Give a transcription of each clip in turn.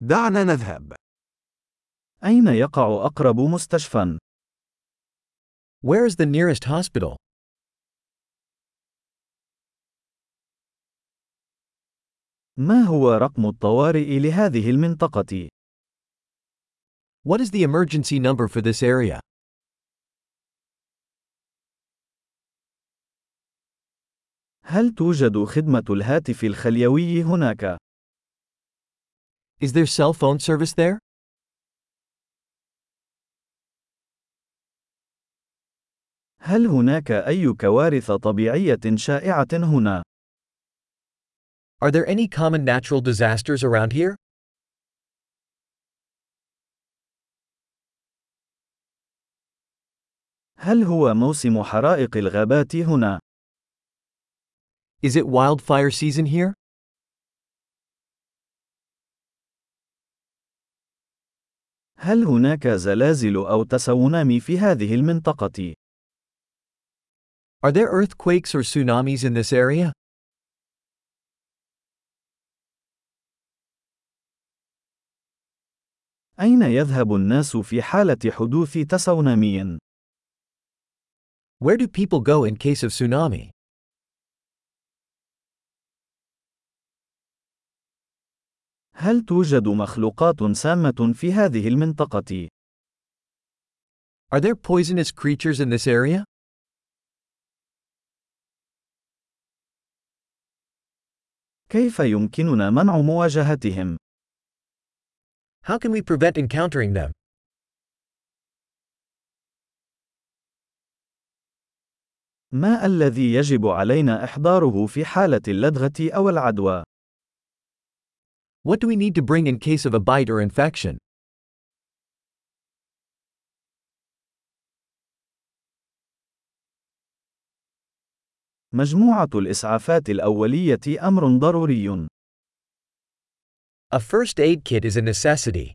دعنا نذهب. أين يقع أقرب مستشفى؟ Where is the nearest hospital? ما هو رقم الطوارئ لهذه المنطقة؟ What is the emergency number for this area? هل توجد خدمة الهاتف الخليوي هناك؟ Is there cell phone service there? هل هناك أي كوارث طبيعية شائعة هنا؟ Are there any common natural disasters around here? هل هو موسم حرائق الغابات هنا؟ Is it wildfire season here? هل هناك زلازل أو تسونامي في هذه المنطقة؟ Are there earthquakes or tsunamis in this area? أين يذهب الناس في حالة حدوث تسونامي؟ Where do people go in case of tsunami? هل توجد مخلوقات سامة في هذه المنطقة؟ Are there poisonous creatures in this area? كيف يمكننا منع مواجهتهم؟ How can we prevent encountering them? ما الذي يجب علينا إحضاره في حالة اللدغة أو العدوى؟ What do we need to bring in case of a bite or infection? مجموعة الإسعافات الأولية أمر ضروري. A first aid kit is a necessity.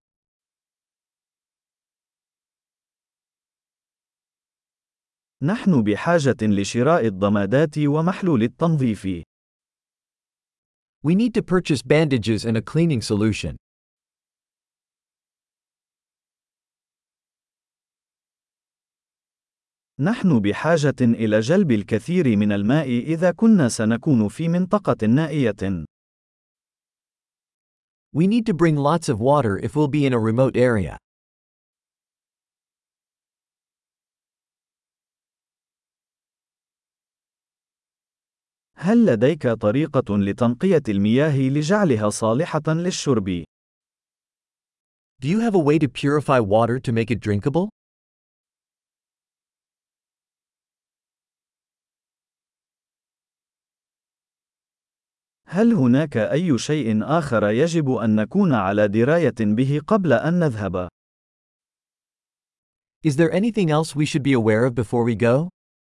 نحن بحاجة لشراء الضمادات ومحلول التنظيف. We need to purchase bandages and a cleaning solution. نحن بحاجة إلى جلب الكثير من الماء إذا كنا سنكون في منطقة نائية. We need to bring lots of water if we'll be in a remote area. هل لديك طريقة لتنقية المياه لجعلها صالحة للشرب؟ Do you have a way to purify water to make it drinkable? هل هناك أي شيء آخر يجب أن نكون على دراية به قبل أن نذهب؟ Is there anything else we should be aware of before we go?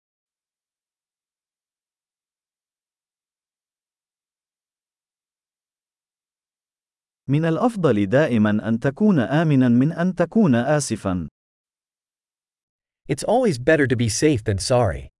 من الأفضل دائما أن تكون آمنا من أن تكون آسفا. It's always better to be safe than sorry.